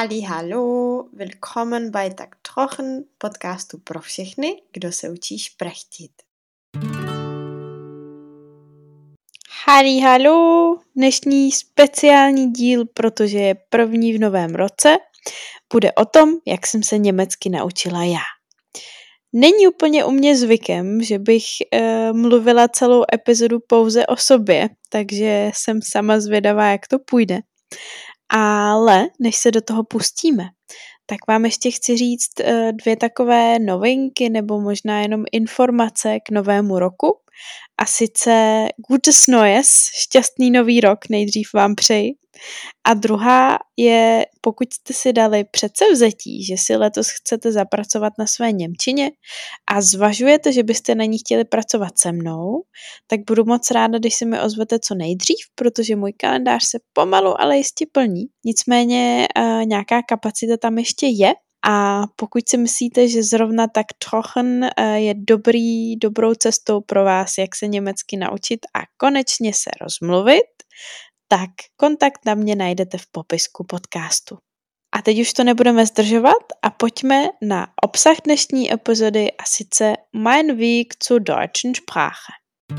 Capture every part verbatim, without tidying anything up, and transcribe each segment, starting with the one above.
Hallo, willkommen bei Tak Trochen, podcastu pro všechny, kdo se učí šprechtit. Hallo, dnešní speciální díl, protože je první v novém roce, bude o tom, jak jsem se německy naučila já. Není úplně u mě zvykem, že bych e, mluvila celou epizodu pouze o sobě, takže jsem sama zvědavá, jak to půjde. Ale než se do toho pustíme, tak vám ještě chci říct e, dvě takové novinky nebo možná jenom informace k novému roku. A sice Gutes Neues, šťastný nový rok, nejdřív vám přeji. A druhá je, pokud jste si dali předsevzetí, že si letos chcete zapracovat na své němčině a zvažujete, že byste na ní chtěli pracovat se mnou, tak budu moc ráda, když se mi ozvete co nejdřív, protože můj kalendář se pomalu, ale jistě plní. Nicméně uh, nějaká kapacita tam ještě je. A pokud si myslíte, že zrovna Tak Trochen je dobrý, dobrou cestou pro vás, jak se německy naučit a konečně se rozmluvit, tak kontakt na mě najdete v popisku podcastu. A teď už to nebudeme zdržovat a pojďme na obsah dnešní epizody a sice Mein Weg zur deutschen Sprache.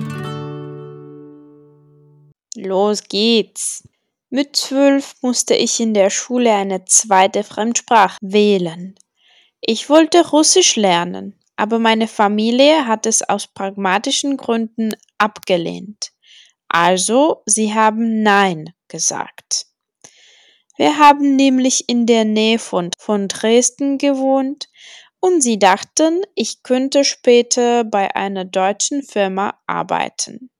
Los geht's! Mit zwölf musste ich in der Schule eine zweite Fremdsprache wählen. Ich wollte Russisch lernen, aber meine Familie hat es aus pragmatischen Gründen abgelehnt. Also, sie haben Nein gesagt. Wir haben nämlich in der Nähe von, von Dresden gewohnt und sie dachten, ich könnte später bei einer deutschen Firma arbeiten.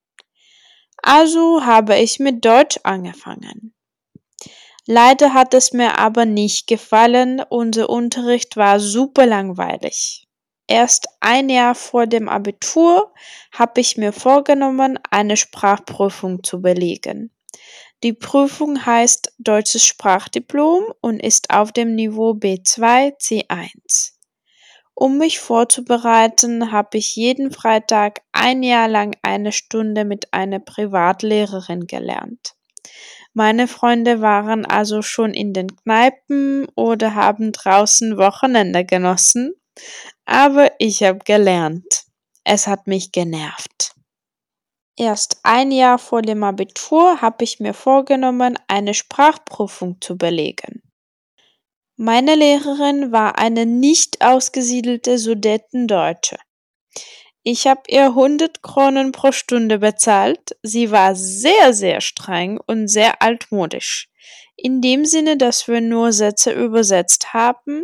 Also habe ich mit Deutsch angefangen. Leider hat es mir aber nicht gefallen, unser Unterricht war super langweilig. Erst ein Jahr vor dem Abitur habe ich mir vorgenommen, eine Sprachprüfung zu belegen. Die Prüfung heißt Deutsches Sprachdiplom und ist auf dem Niveau B zwei C eins. Um mich vorzubereiten, habe ich jeden Freitag ein Jahr lang eine Stunde mit einer Privatlehrerin gelernt. Meine Freunde waren also schon in den Kneipen oder haben draußen Wochenende genossen, aber ich habe gelernt. Es hat mich genervt. Erst ein Jahr vor dem Abitur habe ich mir vorgenommen, eine Sprachprüfung zu belegen. Meine Lehrerin war eine nicht ausgesiedelte Sudetendeutsche. Ich habe ihr hundert Kronen pro Stunde bezahlt. Sie war sehr, sehr streng und sehr altmodisch. In dem Sinne, dass wir nur Sätze übersetzt haben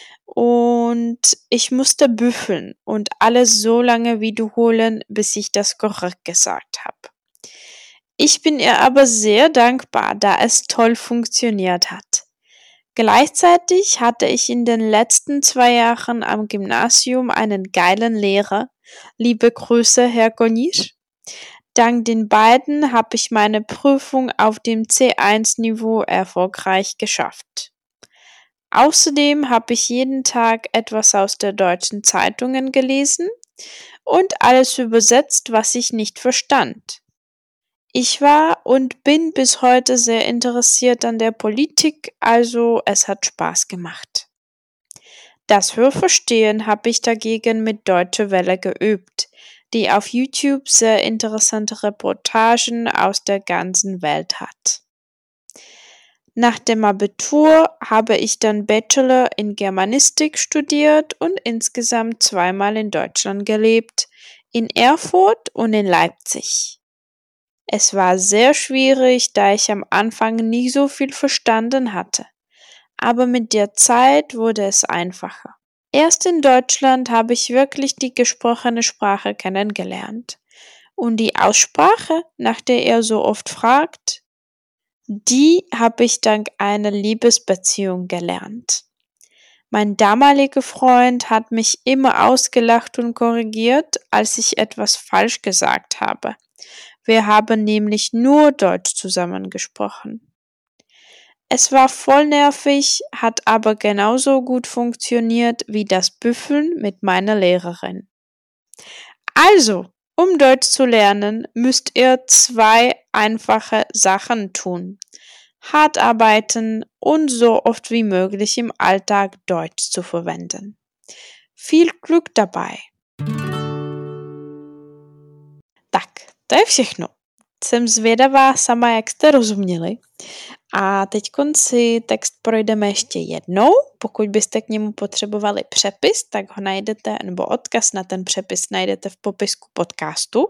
und ich musste büffeln und alles so lange wiederholen, bis ich das korrekt gesagt habe. Ich bin ihr aber sehr dankbar, da es toll funktioniert hat. Gleichzeitig hatte ich in den letzten zwei Jahren am Gymnasium einen geilen Lehrer. Liebe Grüße, Herr Gonisch. Dank den beiden habe ich meine Prüfung auf dem C eins Niveau erfolgreich geschafft. Außerdem habe ich jeden Tag etwas aus der deutschen Zeitungen gelesen und alles übersetzt, was ich nicht verstand. Ich war und bin bis heute sehr interessiert an der Politik, also es hat Spaß gemacht. Das Hörverstehen habe ich dagegen mit Deutsche Welle geübt, die auf YouTube sehr interessante Reportagen aus der ganzen Welt hat. Nach dem Abitur habe ich dann Bachelor in Germanistik studiert und insgesamt zweimal in Deutschland gelebt, in Erfurt und in Leipzig. Es war sehr schwierig, da ich am Anfang nie so viel verstanden hatte. Aber mit der Zeit wurde es einfacher. Erst in Deutschland habe ich wirklich die gesprochene Sprache kennengelernt. Und die Aussprache, nach der ihr so oft fragt, die habe ich dank einer Liebesbeziehung gelernt. Mein damaliger Freund hat mich immer ausgelacht und korrigiert, als ich etwas falsch gesagt habe. Wir haben nämlich nur Deutsch zusammengesprochen. Es war voll nervig, hat aber genauso gut funktioniert wie das Büffeln mit meiner Lehrerin. Also, um Deutsch zu lernen, müsst ihr zwei einfache Sachen tun. hart arbeiten und so oft wie möglich im Alltag Deutsch zu verwenden. Viel Glück dabei. Tak, to je všechno. Jsem zvědavá sama, jak jste rozuměli. A teď si text projdeme ještě jednou. Pokud byste k němu potřebovali přepis, tak ho najdete, nebo odkaz na ten přepis najdete v popisku podcastu.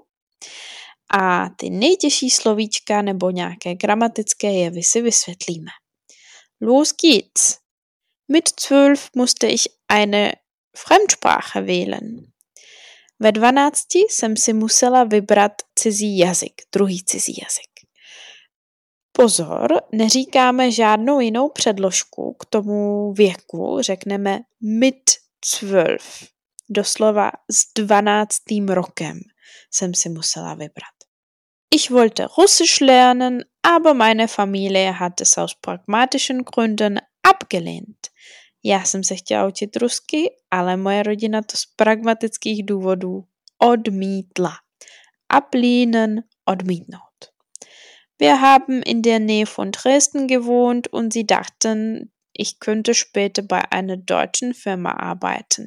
A ty nejtěžší slovíčka nebo nějaké gramatické jevy si vysvětlíme. Los geht's! Mit zwölf musste ich eine Fremdsprache wählen. Ve dvanácti jsem si musela vybrat cizí jazyk, druhý cizí jazyk. Pozor, neříkáme žádnou jinou předložku k tomu věku, řekneme mit zwölf. Doslova s dvanáctým rokem jsem si musela vybrat. Ich wollte Russisch lernen, aber meine Familie hat es aus pragmatischen Gründen abgelehnt. Já jsem se chtěla učit rusky, ale moje rodina to z pragmatických důvodů odmítla. Ablehnen, odmítnout. Wir haben in der Nähe von Dresden gewohnt und sie dachten, ich könnte später bei einer deutschen Firma arbeiten.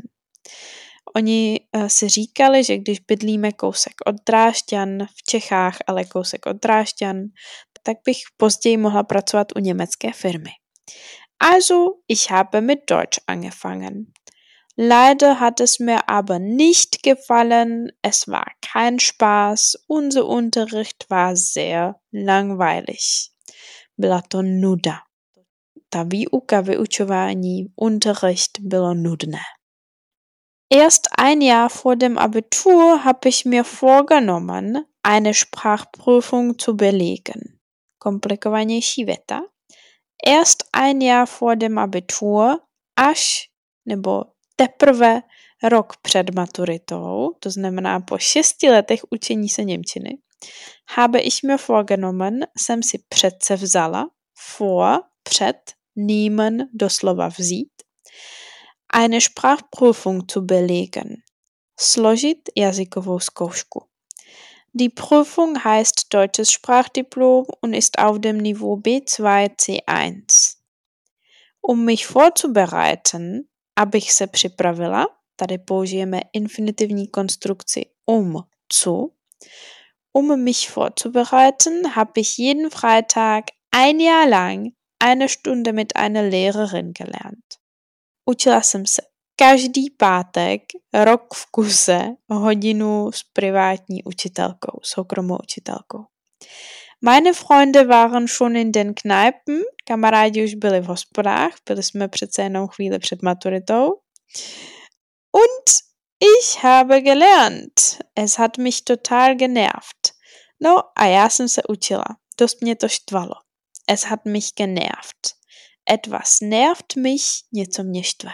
Oni uh, si říkali, že když bydlíme kousek od Drážďan v Čechách, ale kousek od Drážďan, tak bych později mohla pracovat u německé firmy. Also, ich habe mit Deutsch angefangen. Leider hat es mir aber nicht gefallen, es war kein Spaß, unser Unterricht war sehr langweilig. Byla to nuda. Ta výuka, vyučování, Unterricht bylo nudné. Erst ein Jahr vor dem Abitur habe ich mir vorgenommen, eine Sprachprüfung zu belegen. Komplikovanější věta. Erst ein Jahr vor dem Abitur, až nebo teprve rok před maturitou, to znamená po šesti letech učení se němčiny, habe ich mir vorgenommen, jsem si předse vzala, vor, před, nehmen, doslova vzít, eine Sprachprüfung zu belegen, složit jazykovou zkoušku. Die Prüfung heißt Deutsches Sprachdiplom und ist auf dem Niveau B zwei C eins. Um mich vorzubereiten, abych se připravila, tady použijeme infinitivní konstrukci um zu. Um mich vorzubereiten, habe ich jeden Freitag ein Jahr lang eine Stunde mit einer Lehrerin gelernt. Učila jsem se každý pátek, rok v kuse, hodinu s privátní učitelkou, soukromou učitelkou. Meine Freunde waren schon in den Kneipen, kamarádi už byli v hospodách, byli jsme přece jenom chvíli před maturitou. Und ich habe gelernt. Es hat mich total genervt. No a já jsem se učila. Dost mě to štvalo. Es hat mich genervt. Etwas nervt mich, něco mě štve.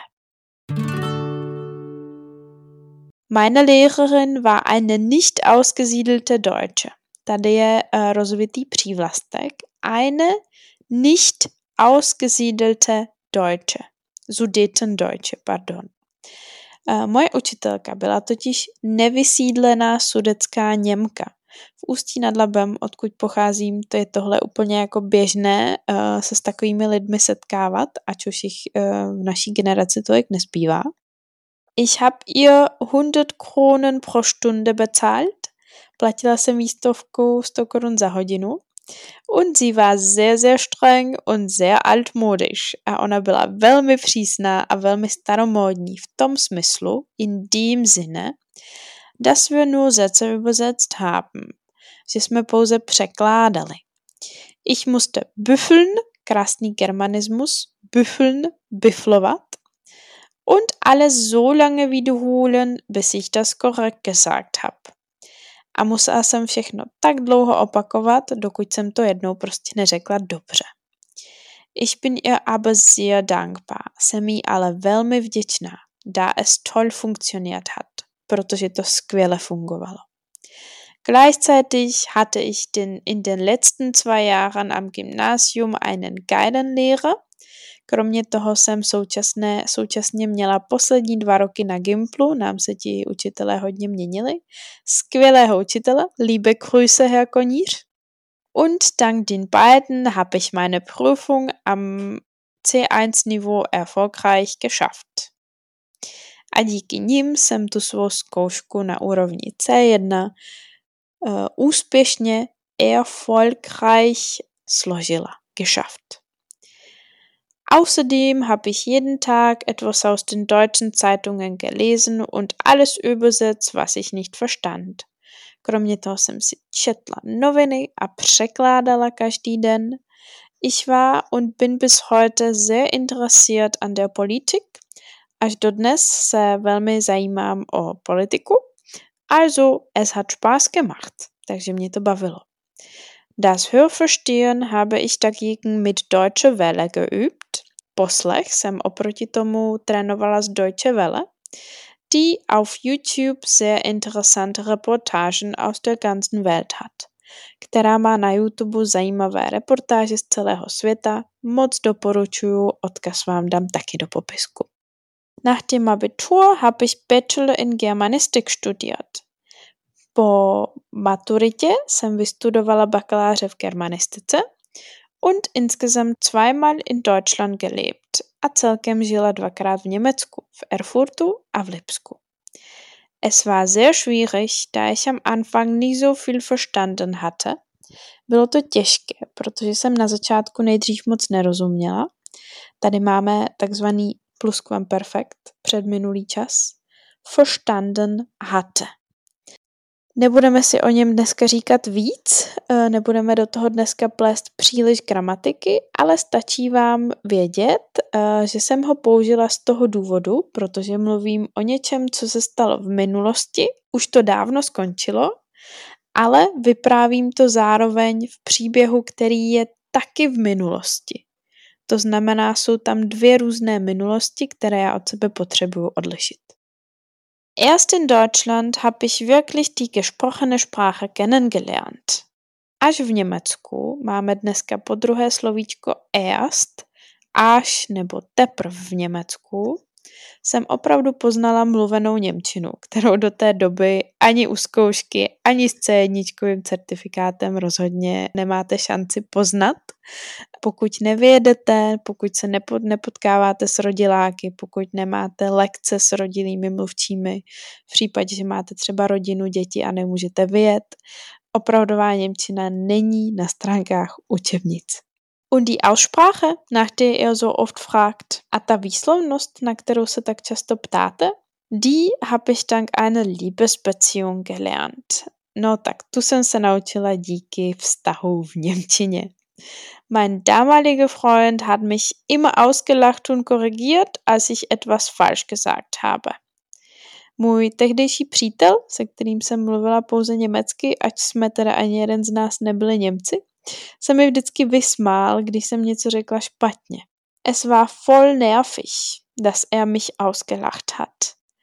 Meine Lehrerin war eine nicht ausgesiedelte Deutsche. Tady je uh, rozvitý přívlastek. Eine nicht ausgesiedelte Deutsche. Sudetendeutsche, pardon. Uh, moje učitelka byla totiž nevysídlená sudetská Němka. V Ústí nad Labem, odkud pocházím, to je tohle úplně jako běžné uh, se s takovými lidmi setkávat, ať už jich uh, v naší generaci tolik nezbývá. Ich habe ihr hundert Kronen pro Stunde bezahlt. Platila jsem jí stovku, sto korun za hodinu. Und sie war sehr, sehr streng und sehr altmodisch. A ona byla velmi přísná a velmi staromódní v tom smyslu, in dem Sinne, dass wir nur Sätze übersetzt haben. Že jsme pouze překládali. Ich musste büffeln, krásný germanismus, büffeln, biflovat. Und alles so lange wiederholen, bis ich das korrekt gesagt habe. A musela jsem všechno tak dlouho opakovat, dokud jsem to jednou prostě neřekla dobře. Ich bin ihr aber sehr dankbar. Jsem jí ale velmi vděčná, da es toll funktioniert hat, protože to skvěle fungovalo. Gleichzeitig hatte ich den, in den letzten zwei Jahren am Gymnasium einen geilen Lehrer. Kromě toho jsem současné, současně měla poslední dva roky na Gimplu, nám se ti učitelé hodně měnili. Skvělého učitele, liebe Grüße, Herr Koníř. Und dank den beiden habe ich meine Prüfung am C eins Niveau erfolgreich geschafft. A díky nim jsem tu svou zkoušku na úrovni C jedna uh, úspěšně erfolgreich složila, geschafft. Außerdem habe ich jeden Tag etwas aus den deutschen Zeitungen gelesen und alles übersetzt, was ich nicht verstand. Kromě toho jsem si četla noviny a překládala každý den. Ich war und bin bis heute sehr interessiert an der Politik. Až dodnes se velmi zajímám o politiku. Also, es hat Spaß gemacht. Takže mě to bavilo. Das Hörverstehen habe ich dagegen mit Deutsche Welle geübt. Poslech jsem oproti tomu trénovala z Deutsche Welle, die auf YouTube sehr interessante Reportagen aus der ganzen Welt hat, která má na YouTube zajímavé reportáže z celého světa. Moc doporučuju, odkaz vám dám taky do popisku. Nach dem Abitur habe ich Bachelor in Germanistik studiert. Po maturitě jsem vystudovala bakaláře v germanistice und insgesamt zweimal in Deutschland gelebt a celkem žila dvakrát v Německu, v Erfurtu a v Lipsku. Es war sehr schwierig, da ich am Anfang nicht so viel verstanden hatte. Bylo to těžké, protože jsem na začátku nejdřív moc nerozuměla. Tady máme takzvaný pluskvamperfekt, předminulý čas. Verstanden hatte. Nebudeme si o něm dneska říkat víc, nebudeme do toho dneska plést příliš gramatiky, ale stačí vám vědět, že jsem ho použila z toho důvodu, protože mluvím o něčem, co se stalo v minulosti, už to dávno skončilo, ale vyprávím to zároveň v příběhu, který je taky v minulosti. To znamená, jsou tam dvě různé minulosti, které já od sebe potřebuju odlišit. Erst in Deutschland habe ich wirklich die gesprochene Sprache kennengelernt. Až v Německu máme dneska po druhé slovíčko erst, až nebo teprv v Německu, jsem opravdu poznala mluvenou němčinu, kterou do té doby ani u zkoušky, ani s C jedna certifikátem rozhodně nemáte šanci poznat. Pokud nevyjedete, pokud se nepod, nepotkáváte s rodiláky, pokud nemáte lekce s rodilými mluvčími, v případě, že máte třeba rodinu, děti a nemůžete vyjet, opravdová němčina není na stránkách učebnic. Und die Aussprache, nach der ihr so oft fragt, a ta výslovnost, na kterou se tak často ptáte, die habe ich dank einer Liebesbeziehung gelernt. No tak tu jsem se naučila díky vztahu v němčině. Mein damaliger Freund hat mich immer ausgelacht und korrigiert, als ich etwas falsch gesagt habe. Můj tehdejší přítel, se kterým jsem mluvila pouze německy, ať jsme teda ani jeden z nás nebyli Němci, se mi vždycky vysmál, když jsem něco řekla špatně. Es war voll nervig, dass er mich ausgelacht hat.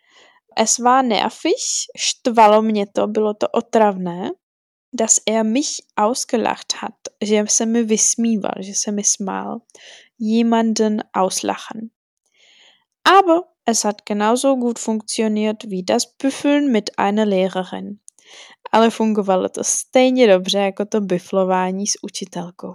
Es war nervig, štvalo mě to, bylo to otravné, dass er mich ausgelacht hat, že se mi vysmíval, že se mi smál. Jemanden auslachen. Aber es hat genauso gut funktioniert wie das Büffeln mit einer Lehrerin. Ale fungovalo to stejně dobře jako to biflování s učitelkou.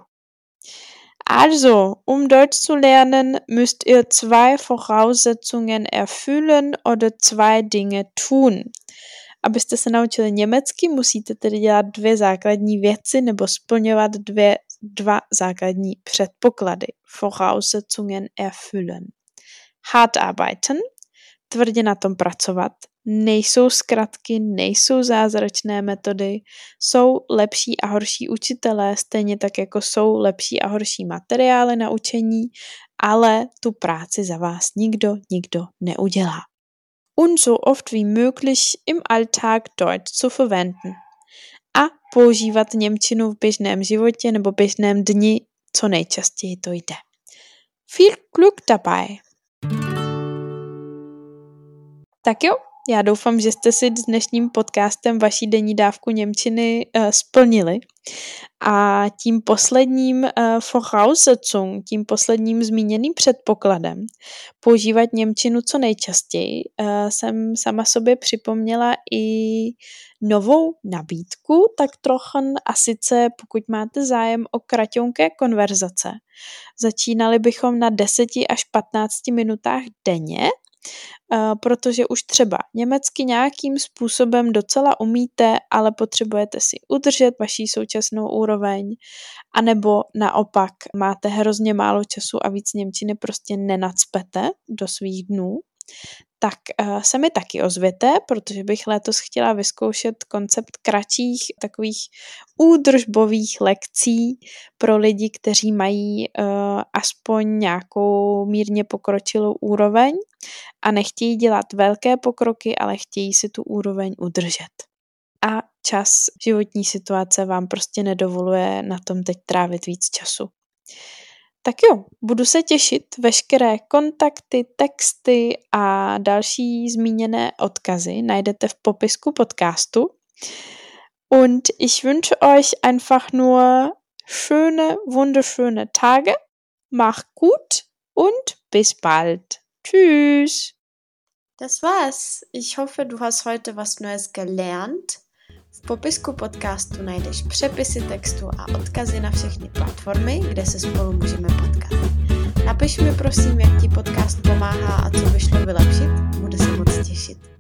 Also, um Deutsch zu lernen, müsst ihr zwei Voraussetzungen erfüllen oder zwei Dinge tun. Abyste se naučili německy, musíte tedy dělat dvě základní věci nebo splňovat dvě, dva základní předpoklady. Voraussetzungen erfüllen. Hart arbeiten, tvrdě na tom pracovat. Nejsou zkratky, nejsou zázračné metody, jsou lepší a horší učitelé, stejně tak jako jsou lepší a horší materiály na učení, ale tu práci za vás nikdo, nikdo neudělá. Und so oft wie möglich im Alltag Deutsch zu verwenden. A používat němčinu v běžném životě nebo běžném dni, co nejčastěji to jde. Viel Glück dabei! Tak jo, Já doufám, že jste si s dnešním podcastem vaší denní dávku němčiny uh, splnili. A tím posledním uh, Voraussetzung, tím posledním zmíněným předpokladem používat němčinu co nejčastěji uh, jsem sama sobě připomněla i novou nabídku, tak trochu, a sice pokud máte zájem o kraťonké konverzace. Začínali bychom na deset až patnáct minutách denně, Uh, protože už třeba německy nějakým způsobem docela umíte, ale potřebujete si udržet vaši současnou úroveň, anebo naopak máte hrozně málo času a víc němčiny prostě nenacpete do svých dnů, tak uh, se mi taky ozvěte, protože bych letos chtěla vyzkoušet koncept kratších takových údržbových lekcí pro lidi, kteří mají uh, aspoň nějakou mírně pokročilou úroveň a nechtějí dělat velké pokroky, ale chtějí si tu úroveň udržet. A čas, životní situace vám prostě nedovoluje na tom teď trávit víc času. Tak jo, budu se těšit. Veškeré kontakty, texty a další zmíněné odkazy najdete v popisku podcastu. Und ich wünsche euch einfach nur schöne, wunderschöne Tage. Macht gut und bis bald. Tschüss. Das war's. Ich hoffe, du hast heute was Neues gelernt. V popisku podcastu najdeš přepisy textu a odkazy na všechny platformy, kde se spolu můžeme potkat. Napiš mi prosím, jak ti podcast pomáhá a co by šlo vylepšit. Budu se moc těšit.